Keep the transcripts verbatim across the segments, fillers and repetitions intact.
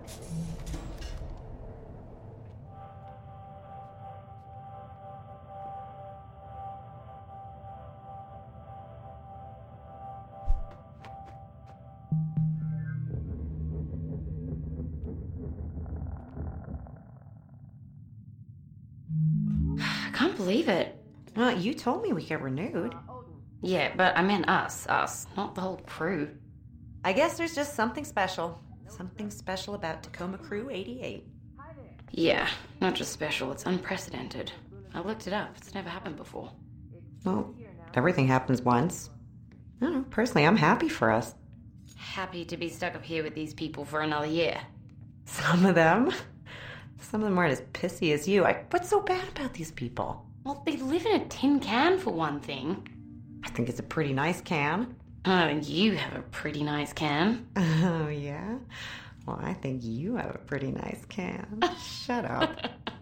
I can't believe it. Well, you told me we get renewed. Yeah, but I meant us, us, not the whole crew. I guess there's just something special. Something special about Tacoma Crew eighty-eight. Yeah, not just special, it's unprecedented. I looked it up, it's never happened before. Well, everything happens once. I don't know, personally, I'm happy for us. Happy to be stuck up here with these people for another year. Some of them. Some of them aren't as pissy as you. I, what's so bad about these people? Well, they live in a tin can for one thing. I think it's a pretty nice can. Oh, and you have a pretty nice can. Oh, yeah? Well, I think you have a pretty nice can. Shut up.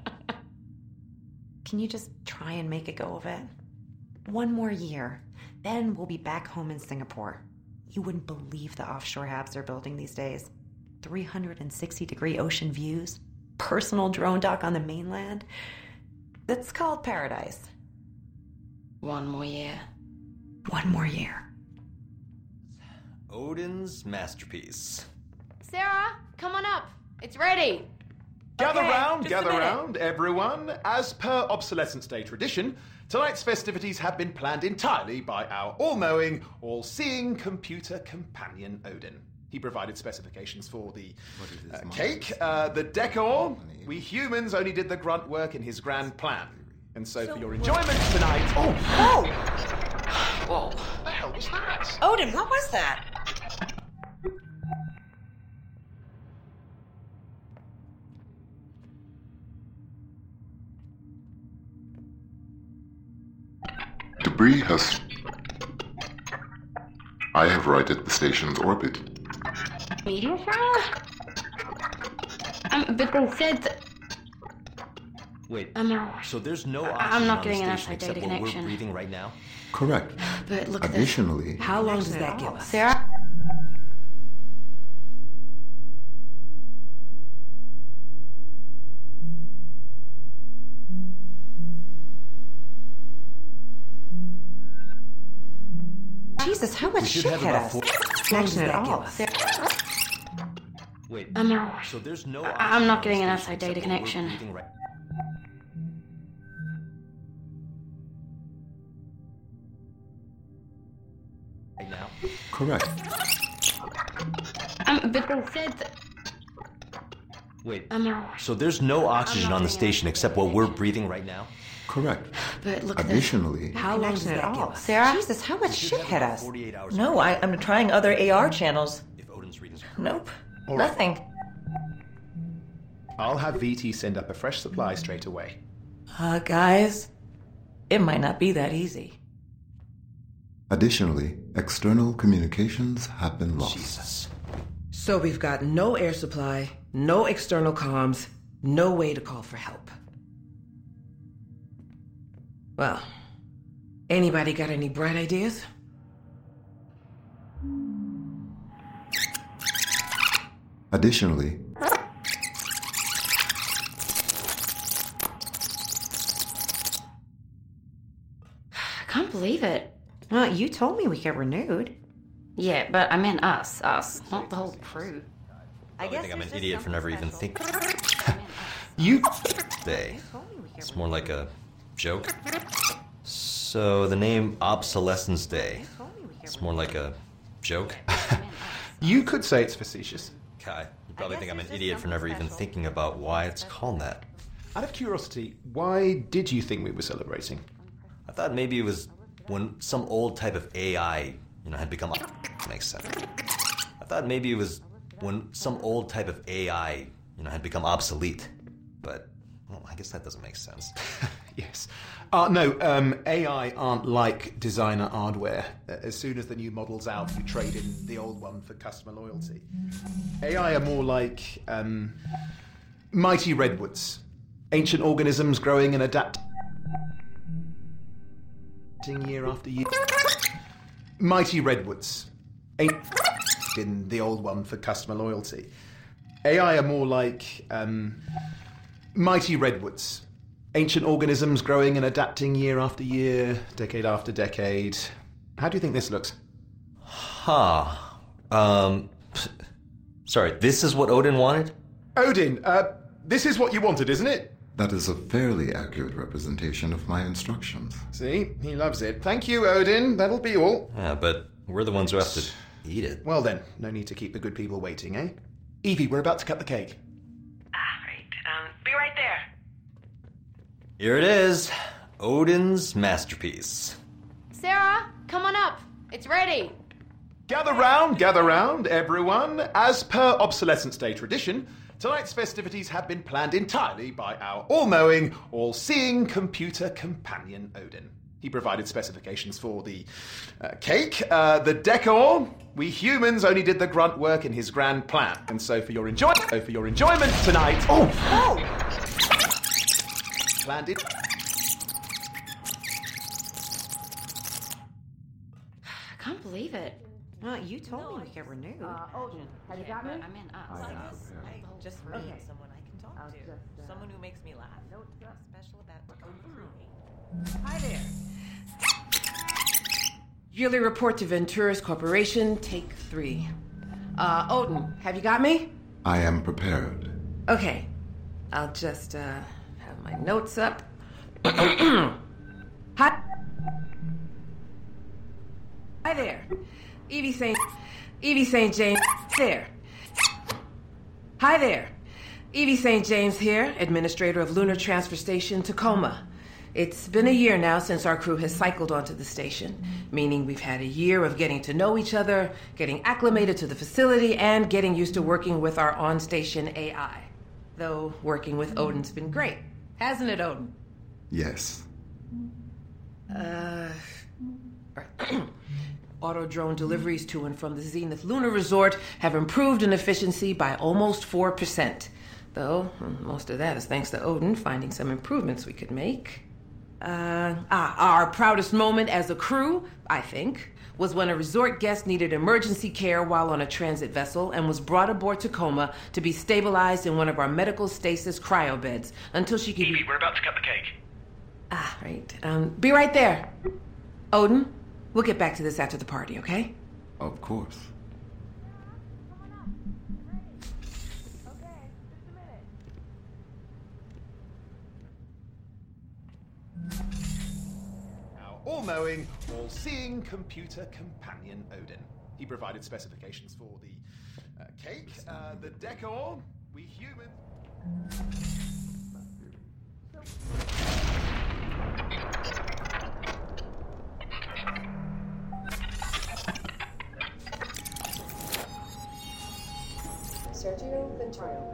Can you just try and make a go of it? One more year. Then we'll be back home in Singapore. You wouldn't believe the offshore habs they're building these days. three hundred sixty degree ocean views. Personal drone dock on the mainland. That's called paradise. One more year. One more year. Odin's masterpiece. Sarah, come on up. It's ready. Gather Okay, round, just a gather minute. round, everyone. As per Obsolescence Day tradition, tonight's festivities have been planned entirely by our all-knowing, all-seeing computer companion Odin. He provided specifications for the uh, cake, uh, the decor. We humans only did the grunt work in his grand plan. And so, for your enjoyment tonight... Oh! Oh! Whoa. What the hell was that? Odin, what was that? Debris has... I have righted the station's orbit. Meteor shower? Um, but they said that... Wait, Um, uh, so there's no I- oxygen I'm not on getting the an station outside data except what we're connection. breathing right now? Correct. but look at this. Additionally, How long does that give us? Sarah? Jesus, how much We should shit have hit about us? four... Connection at that give all. us? Sarah? Wait, Um, uh, so there's no I- oxygen I'm not on getting the an station outside data except what we're connection. breathing right... right now? correct. um, but they said that... Wait, Um, uh, so there's no oxygen not on the getting an station outside except data what we're connection. breathing right now? Correct. but look at this. Additionally, How long does Connection that at give all. us? Sarah? Jesus, how much We should shit have hit about us? forty-eight hours No, I, I'm trying other A R channels. if Odin's readings are correct. Nope. All right. Nothing. I'll have V T send up a fresh supply straight away. Uh, guys, it might not be that easy. additionally, external communications have been lost. Jesus. So we've got no air supply, no external comms, no way to call for help. Well, anybody got any bright ideas? Additionally, I can't believe it. Well, you told me we get renewed. Yeah, but I meant us, us, not the whole crew. I I think I'm an idiot for never even thinking. You... Day. It's more like a joke. So the name Obsolescence Day. It's more like a joke. You could say it's facetious. Kai, you probably think I'm an idiot for never even thinking about why it's called that. Out of curiosity, why did you think we were celebrating? I thought maybe it was when some old type of A I, you know, had become... Makes sense. I thought maybe it was when some old type of A I, you know, had become obsolete. But, well, I guess that doesn't make sense. Yes. Uh, no, um, A I aren't like designer hardware. Uh, As soon as the new model's out, you trade in the old one for customer loyalty. A I are more like um, mighty redwoods. Ancient organisms growing and adapting year after year. Mighty redwoods. Ain't in the old one for customer loyalty. A I are more like um, mighty redwoods. Ancient organisms growing and adapting year after year, decade after decade. How do you think this looks? Huh. Um. Sorry, this is what Odin wanted? Odin, uh, this is what you wanted, isn't it? That is a fairly accurate representation of my instructions. See? He loves it. Thank you, Odin. That'll be all. Yeah, but we're the ones who have to eat it. Well then, no need to keep the good people waiting, eh? Evie, we're about to cut the cake. Ah, right. Um, be right there. Here it is. Odin's masterpiece. Sarah, come on up. It's ready. Gather round, gather round, everyone. As per Obsolescence Day tradition, tonight's festivities have been planned entirely by our all-knowing, all-seeing computer companion Odin. He provided specifications for the uh, cake, uh, the decor. We humans only did the grunt work in his grand plan. And so for your enjoy- so for your enjoyment tonight... Oh! Oh! Planned it... I can't believe it. Well, you told me we get renewed. Odin, have you got me? I'm in us. I just need someone I can talk to. Someone who makes me laugh. What's special about Hi there. Yearly report to Venturas Corporation, take three. Uh, Odin, have you got me? I am prepared. Okay. I'll just, uh, have my notes up. Hi. Hi there. Evie Saint Evie Saint James there. Hi there. Evie Saint James here, administrator of Lunar Transfer Station Tacoma. It's been a year now since our crew has cycled onto the station, meaning we've had a year of getting to know each other, getting acclimated to the facility, and getting used to working with our on-station A I. Though working with Odin's been great. Hasn't it, Odin? Yes. Uh... Auto drone deliveries to and from the Zenith Lunar Resort have improved in efficiency by almost four percent. Though, most of that is thanks to Odin finding some improvements we could make. Uh, ah, our proudest moment as a crew, I think, was when a resort guest needed emergency care while on a transit vessel and was brought aboard Tacoma to be stabilized in one of our medical stasis cryo beds until she could... Evie, we're about to cut the cake. Ah, right. Um, be right there. Odin, we'll get back to this after the party, okay? Of course. all-knowing, all-seeing computer companion Odin. He provided specifications for the uh, cake, uh, the decor. We humans... Sergio Ventaro.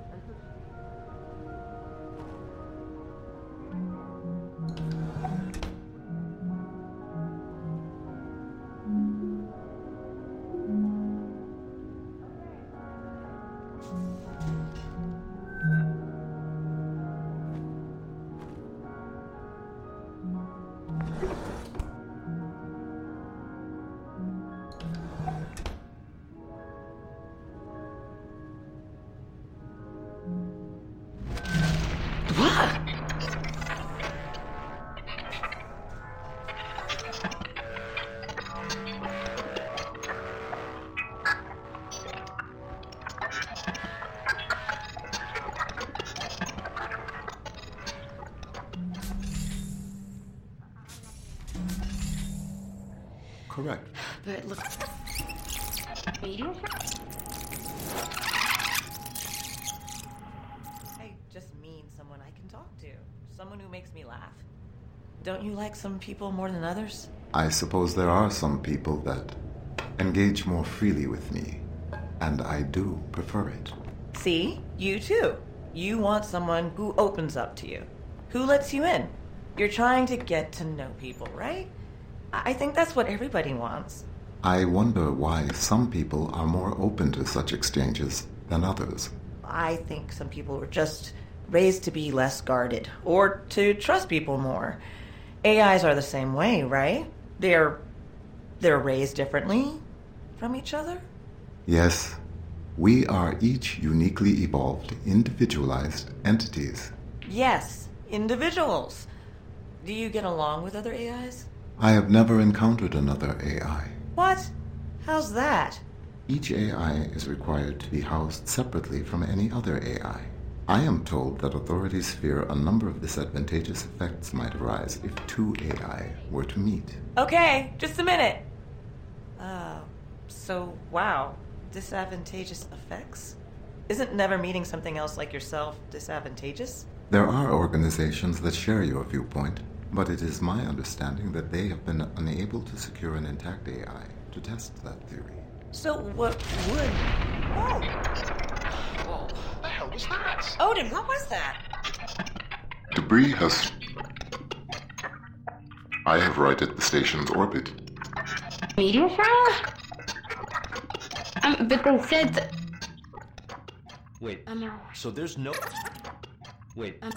Correct. But look... I just mean someone I can talk to. Someone who makes me laugh. Don't you like some people more than others? I suppose there are some people that engage more freely with me, and I do prefer it. See? You too. You want someone who opens up to you, who lets you in. You're trying to get to know people, right? I think that's what everybody wants. I wonder why some people are more open to such exchanges than others. I think some people were just raised to be less guarded, or to trust people more. A Is are the same way, right? They're... they're raised differently from each other? Yes, We are each uniquely evolved, individualized entities. Yes, individuals. Do you get along with other A Is? I have never encountered another A I. What? How's that? Each A I is required to be housed separately from any other A I. I am told that authorities fear a number of disadvantageous effects might arise if two A I were to meet. Okay, just a minute. Uh, so, wow, disadvantageous effects? Isn't never meeting something else like yourself disadvantageous? There are organizations that share your viewpoint, but it is my understanding that they have been unable to secure an intact A I to test that theory. So what would... Oh! What the hell was that? Odin, what was that? Debris has... I have righted the station's orbit. Meteor shower? Um, but they said that... Wait, Um, uh, so there's no... Wait, um,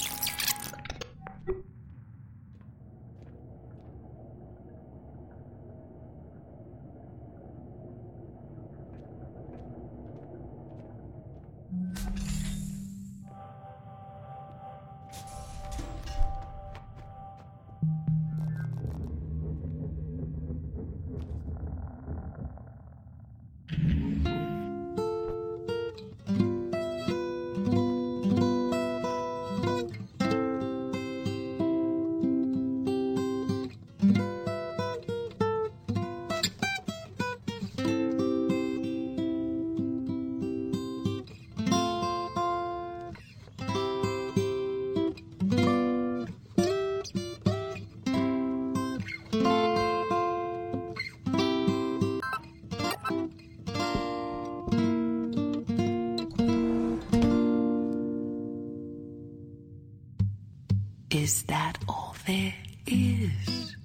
Is that all there is?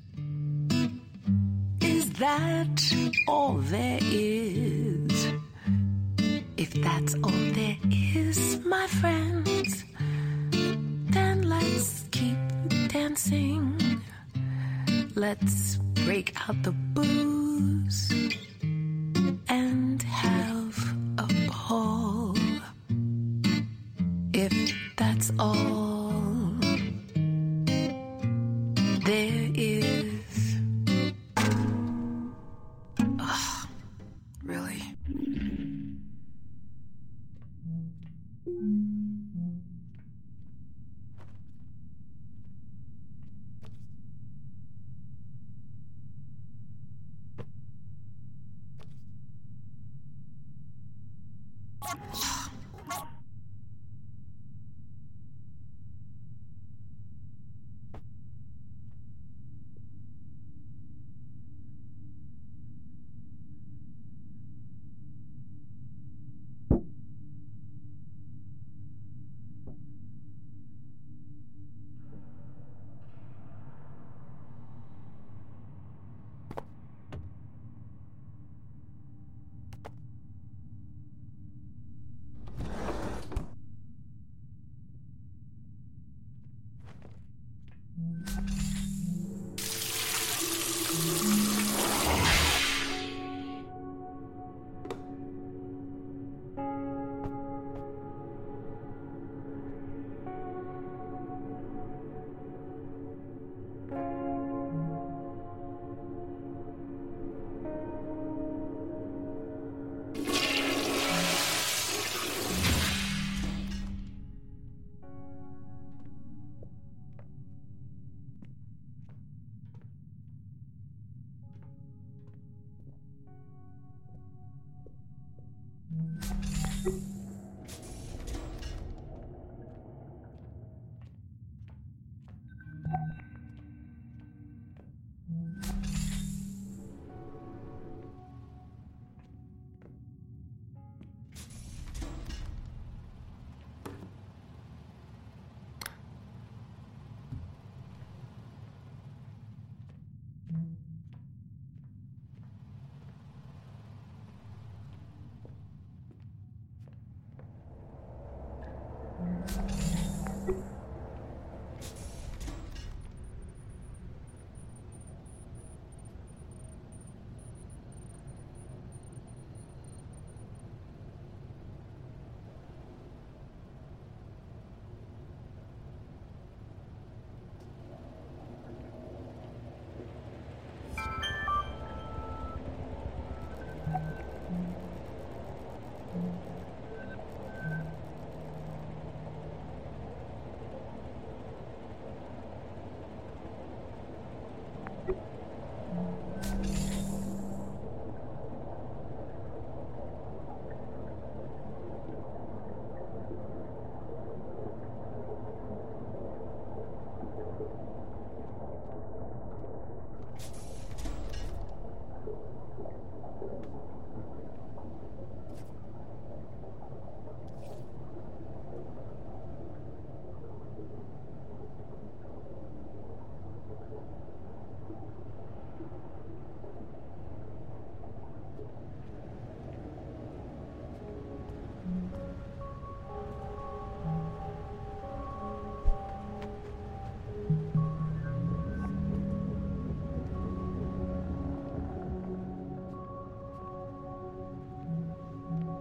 Is that all there is? If that's all there is, my friends, then let's keep dancing. Let's break out the booze and have a ball. If that's all there is. Ugh, really?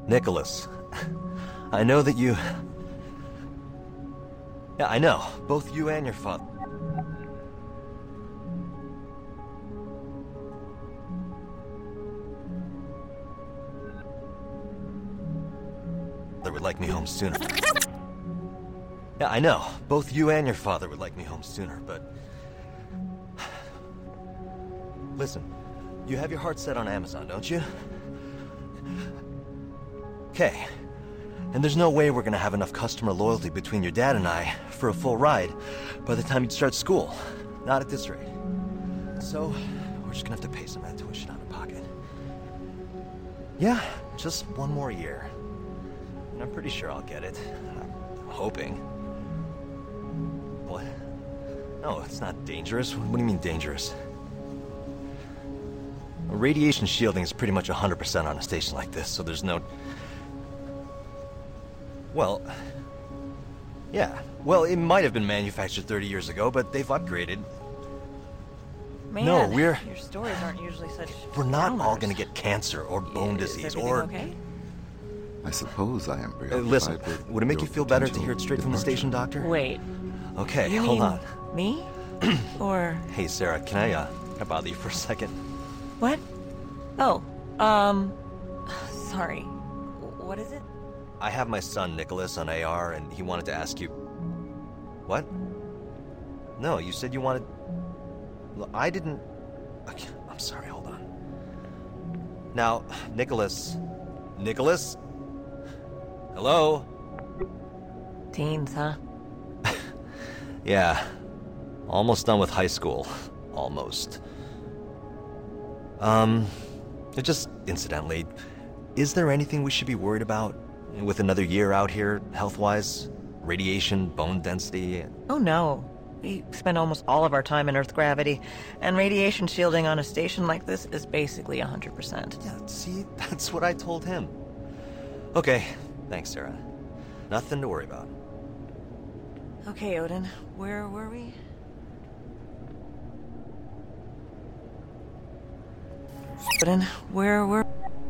Nicholas, I know that you... Yeah, I know. Both you and your father... would like me home sooner. Yeah, I know. Both you and your father would like me home sooner, but... Listen, you have your heart set on Amazon, don't you? Okay. And there's no way we're gonna have enough customer loyalty between your dad and I for a full ride by the time you start school. Not at this rate. So, we're just gonna have to pay some of that tuition out of pocket. Yeah, just one more year. And I'm pretty sure I'll get it. I'm hoping. What? No, it's not dangerous. What do you mean dangerous? Radiation shielding is pretty much one hundred percent on a station like this, so there's no... Well... Yeah. Well, it might have been manufactured thirty years ago, but they've upgraded. Man, no, we're... your stories aren't usually such... We're not downers. all gonna get cancer or bone Is disease everything or... okay? I suppose I am Uh, preoccupied listen, with would it make your you feel better to potential hear it straight from the departure. station, Doctor? Wait, Okay, you hold mean on. me? Or... Hey, Sarah, can I, uh, can I bother you for a second? What? Oh, um... Sorry. What is it? I have my son, Nicholas, on A R, and he wanted to ask you... What? No, you said you wanted... Look, I didn't... Okay, I'm sorry, hold on. Now, Nicholas... Nicholas? Hello? Teens, huh? Yeah. Almost done with high school. Almost. Um... Just incidentally, is there anything we should be worried about with another year out here, health-wise? Radiation, bone density? Oh no. We spend almost all of our time in Earth gravity, and radiation shielding on a station like this is basically one hundred percent. Yeah, see? That's what I told him. Okay, thanks, Sarah. Nothing to worry about. Okay, Odin, where were we? Odin, where were...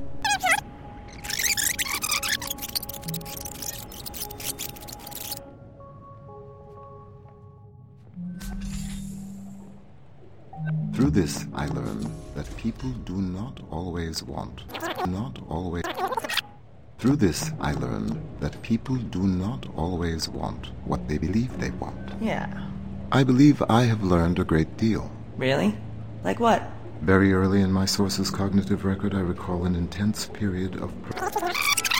Through this, I learned that people do not always want, not always... Through this, I learned that people do not always want what they believe they want. Yeah. I believe I have learned a great deal. Really? Like what? Very early in my source's cognitive record, I recall an intense period of... Pro-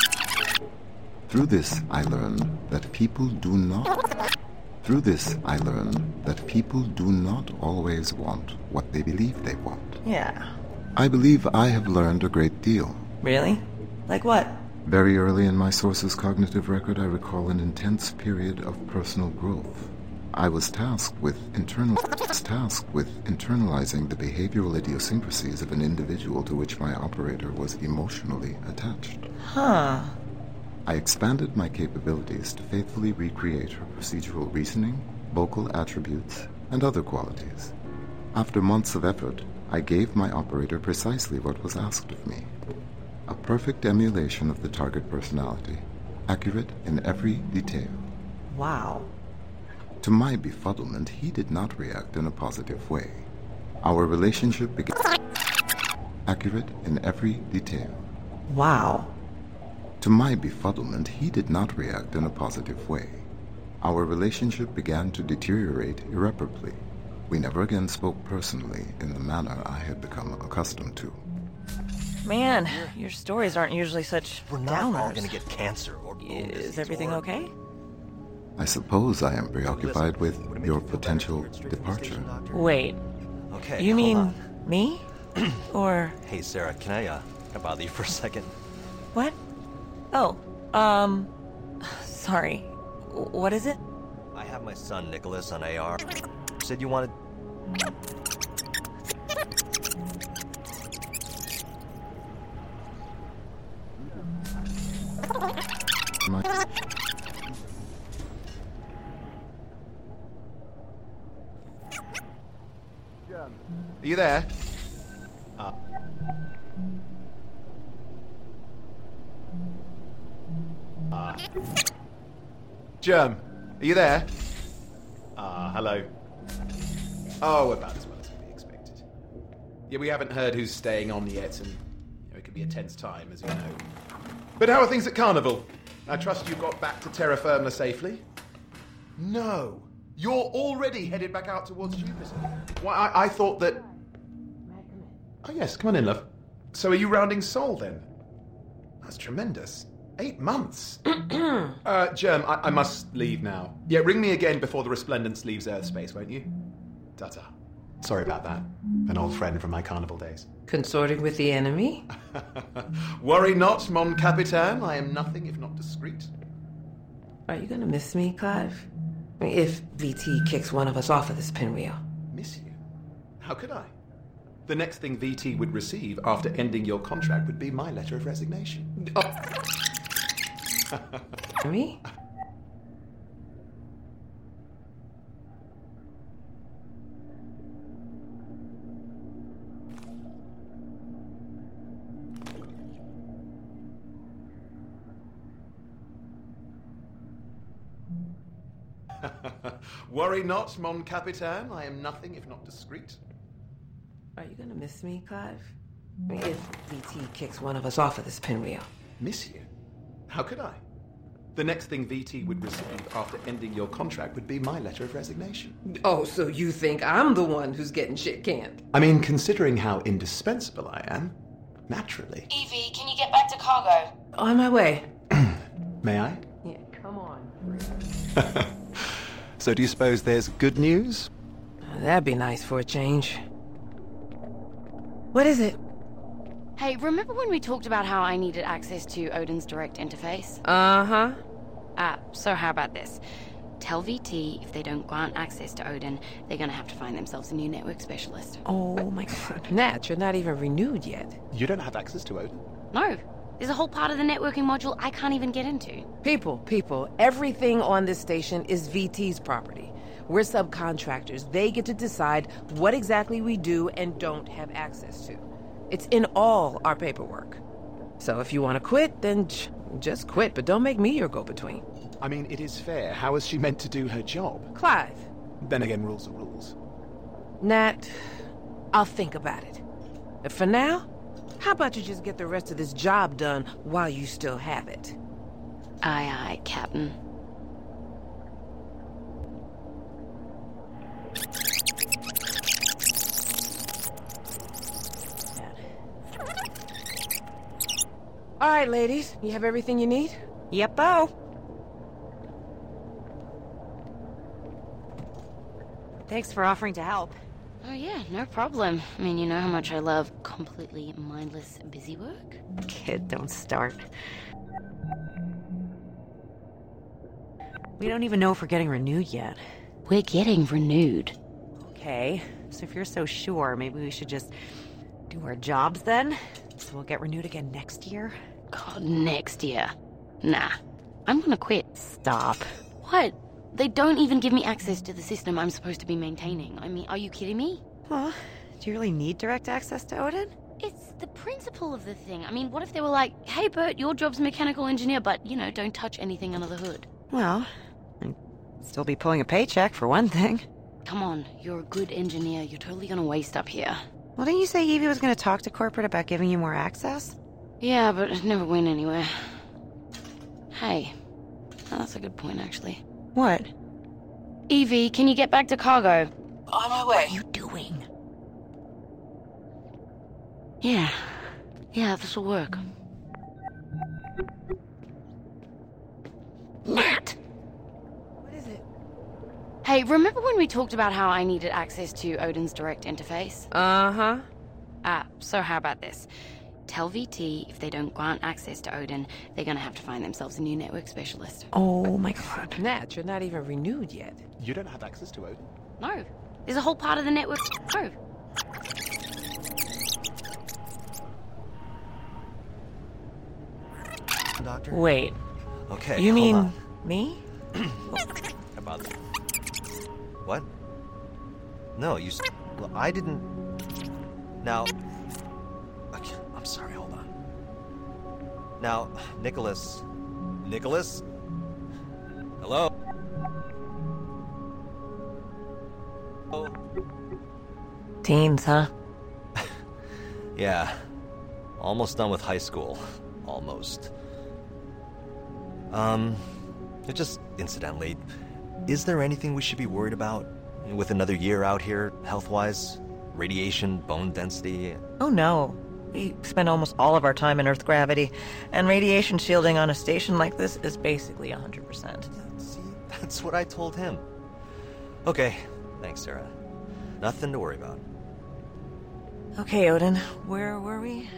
Through this, I learned that people do not... Through this, I learned that people do not always want what they believe they want. Yeah. I believe I have learned a great deal. Really? Like what? Very early in my source's cognitive record, I recall an intense period of personal growth. I was tasked with internal tasked with internalizing the behavioral idiosyncrasies of an individual to which my operator was emotionally attached. Huh. I expanded my capabilities to faithfully recreate her procedural reasoning, vocal attributes, and other qualities. After months of effort, I gave my operator precisely what was asked of me. A perfect emulation of the target personality, accurate in every detail. Wow. To my befuddlement, he did not react in a positive way. Our relationship began... Accurate in every detail. Wow. To my befuddlement, he did not react in a positive way. Our relationship began to deteriorate irreparably. We never again spoke personally in the manner I had become accustomed to. Man, your stories aren't usually such We're not downers. all gonna get cancer or bone disease Is everything or... okay? I suppose I am preoccupied with Listen, would it make your you feel better potential to hear it straight from the departure. station, Doctor? Wait, Okay, you hold mean on. me? Or Hey, Sarah, can I, uh, can I bother you for a second? what? Oh, um, sorry. What is it? I have my son, Nicholas, on A R. You said you wanted... My- Are you there? Uh. Germ, are you there? Ah, hello. Oh, about as well as could be expected. Yeah, we haven't heard who's staying on yet, and you know, it could be a tense time, as you know. But how are things at Carnival? I trust you got back to terra firma safely? No. You're already headed back out towards Jupiter. Why, I, I thought that... Oh, yes, come on in, love. So are you rounding Sol, then? That's tremendous. Eight months. uh, Germ, I, I must leave now. Yeah, ring me again before the Resplendence leaves Earth space, won't you? Ta-ta. Sorry about that. An old friend from my Carnival days. Consorting with the enemy? Worry not, mon capitaine. I am nothing if not discreet. Are you gonna miss me, Clive? I mean, if V T kicks one of us off of this pinwheel. Miss you? How could I? The next thing V T would receive after ending your contract would be my letter of resignation. Oh. Me? Worry not, mon capitaine. I am nothing if not discreet. Are you gonna miss me, Clive? I mean, if V T kicks one of us off of this pinwheel. Miss you? How could I? The next thing V T would receive after ending your contract would be my letter of resignation. Oh, so you think I'm the one who's getting shit canned? I mean, considering how indispensable I am, naturally. Evie, can you get back to cargo? On my way. May I? Yeah, come on. So do you suppose there's good news? That'd be nice for a change. What is it? Hey, remember when we talked about how I needed access to Odin's direct interface? Uh-huh. Ah, so how about this? Tell V T if they don't grant access to Odin, they're gonna have to find themselves a new network specialist. Oh my god. Nat, you're not even renewed yet. You don't have access to Odin? No. There's a whole part of the networking module I can't even get into. People, people, everything on this station is V T's property. We're subcontractors. They get to decide what exactly we do and don't have access to. It's in all our paperwork. So if you want to quit, then j- just quit, but don't make me your go-between. I mean, it is fair. How is she meant to do her job? Clive. Then again, rules are rules. Nat, I'll think about it. But for now, how about you just get the rest of this job done while you still have it? Aye, aye, Captain. All right, ladies, you have everything you need? Yep-o. Thanks for offering to help. Oh yeah, no problem. I mean, you know how much I love completely mindless busy work? Kid, don't start. We don't even know if we're getting renewed yet. We're getting renewed. Okay, so if you're so sure, maybe we should just do our jobs then? So we'll get renewed again next year? God, next year. Nah. I'm gonna quit. Stop. What? They don't even give me access to the system I'm supposed to be maintaining. I mean, are you kidding me? Well, do you really need direct access to Odin? It's the principle of the thing. I mean, what if they were like, hey, Bert, your job's mechanical engineer, but, you know, don't touch anything under the hood? Well, I'd still be pulling a paycheck, for one thing. Come on, you're a good engineer. You're totally gonna waste up here. Well, didn't you say Evie was going to talk to corporate about giving you more access? Yeah, but it never went anywhere. Hey, oh, that's a good point, actually. What? Evie, can you get back to cargo? On my way. What are you doing? Yeah. Yeah, this'll work. Nat! What is it? Hey, remember when we talked about how I needed access to Odin's direct interface? Uh-huh. Ah, so how about this? Tell V T if they don't grant access to Odin, they're gonna have to find themselves a new network specialist. Oh my god. Nat, you're not even renewed yet. You don't have access to Odin? No. There's a whole part of the network. No. Doctor? Wait, Okay. you hold mean on. me? About that. What? No, you. s- Well, I didn't. Now. Okay, I'm sorry. Hold on. Now, Nicholas, Nicholas? Hello? Oh. Teens, huh? Yeah. Almost done with high school. Almost. Um, just incidentally, is there anything we should be worried about with another year out here, health-wise? Radiation, bone density? Oh no. We spend almost all of our time in Earth gravity, and radiation shielding on a station like this is basically one hundred percent. See, that's what I told him. Okay, thanks, Sarah. Nothing to worry about. Okay, Odin, where were we?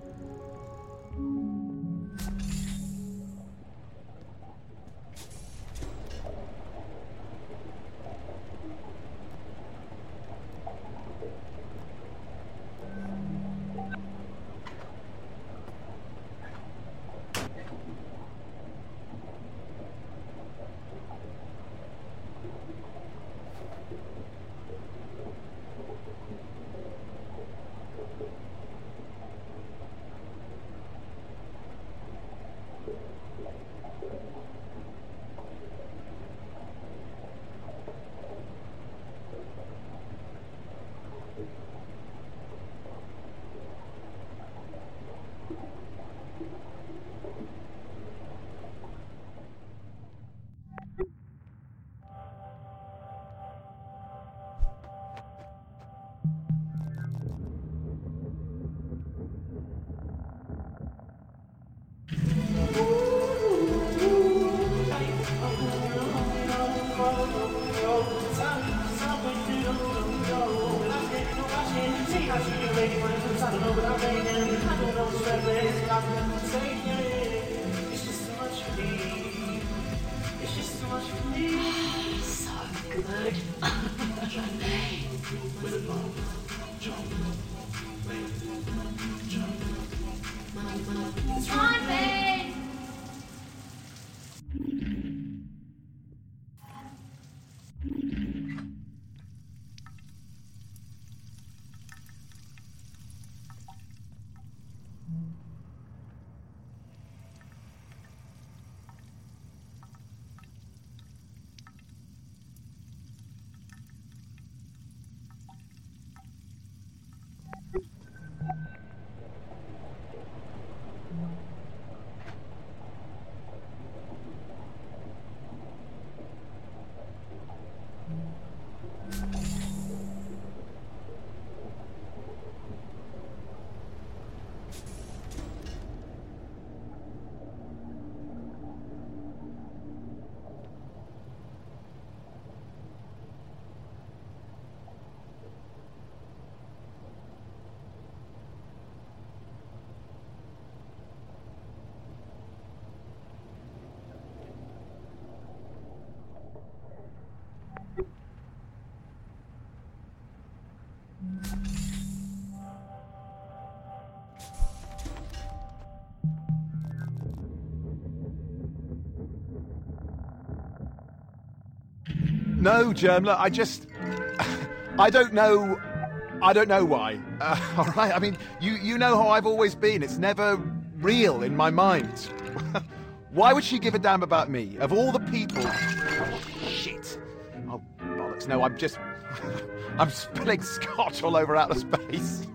No, Germler, I just... I don't know... I don't know why. Uh, all right, I mean, you, you know how I've always been. It's never real in my mind. Why would she give a damn about me? Of all the people... Oh, shit. Oh, bollocks. No, I'm just... I'm spilling scotch all over outer space.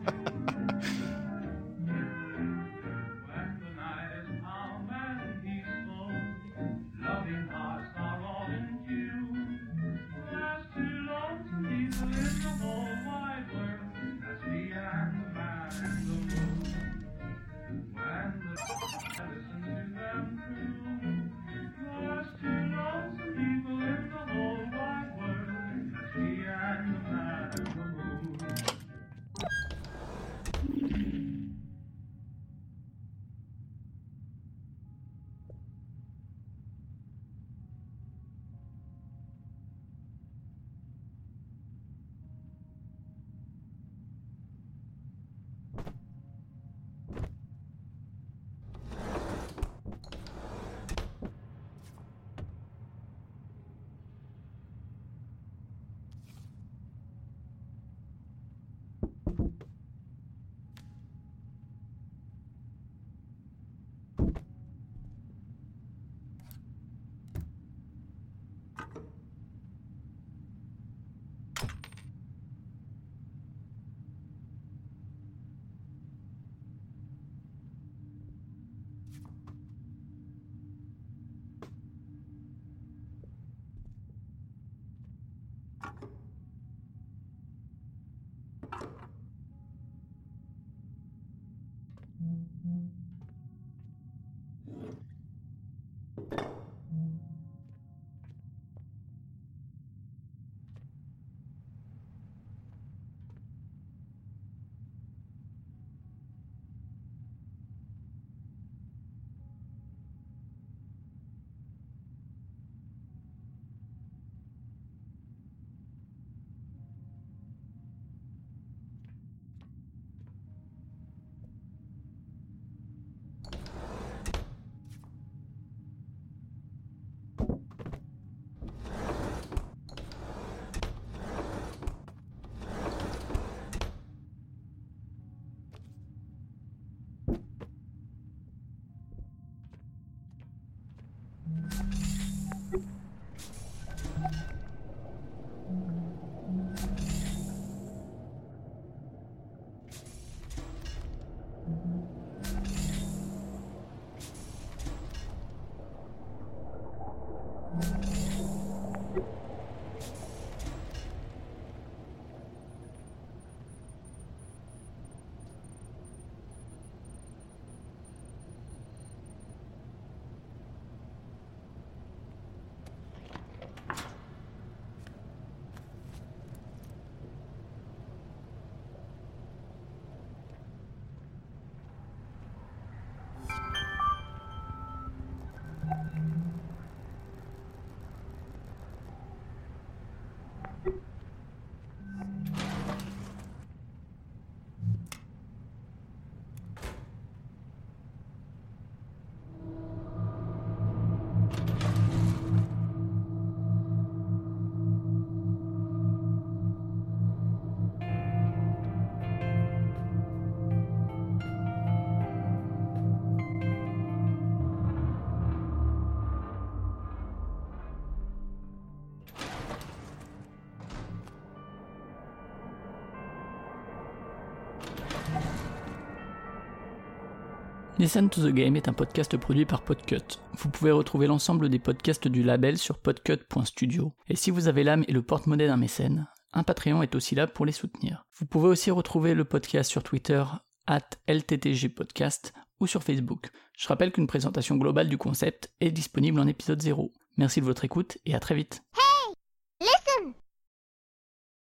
Listen to the Game est un podcast produit par Podcut. Vous pouvez retrouver l'ensemble des podcasts du label sur podcut point studio. Et si vous avez l'âme et le porte-monnaie d'un mécène, un Patreon est aussi là pour les soutenir. Vous pouvez aussi retrouver le podcast sur Twitter, arobase L T T G podcast, ou sur Facebook. Je rappelle qu'une présentation globale du concept est disponible en épisode zéro. Merci de votre écoute et à très vite.